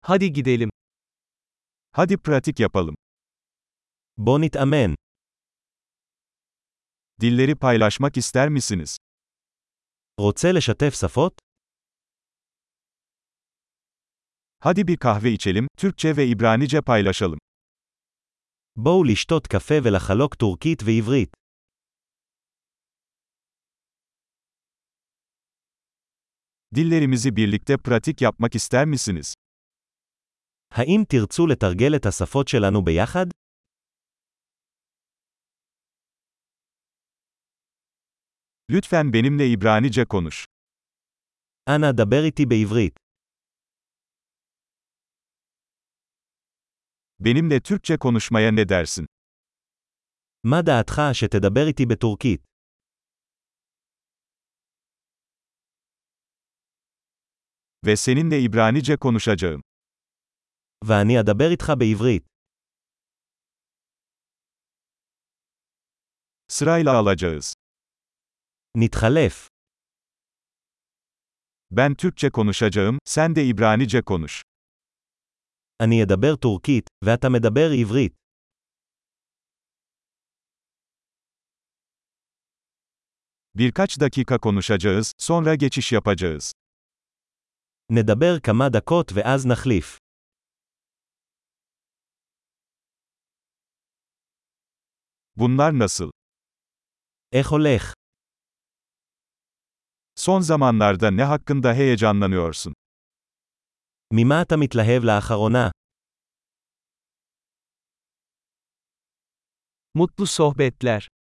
Hadi gidelim. Hadi pratik yapalım. בוא נתאמן. Dilleri paylaşmak ister misiniz? רוצה לשתף שפות? Hadi bir kahve içelim, Türkçe ve İbranice paylaşalım. בואו לשתות קפה ולחלוק טורקית ועברית. Dillerimizi birlikte pratik yapmak ister misiniz? האם תרצו לתרגל את השפות שלנו ביחד? Lütfen benimle İbranice konuş. אנא דבר איתי בעברית. Benimle Türkçe konuşmaya ne dersin? מה דעתך שתדבר איתי בטורקית? Ve seninle İbranice konuşacağım. ואני אדבר איתך בעברית. Sırayla alacağız. נתחלף. Ben Türkçe konuşacağım, sen de İbranice konuş. אני אדבר טורקית, ואתה מדבר עברית. Birkaç dakika konuşacağız, sonra geçiş yapacağız. נדבר כמה דקות ואז נחליף. Bunlar nasıl? איך הולך? Son zamanlarda ne hakkında heyecanlanıyorsun? ממה אתה מתלהב לאחרונה? Mutlu sohbetler.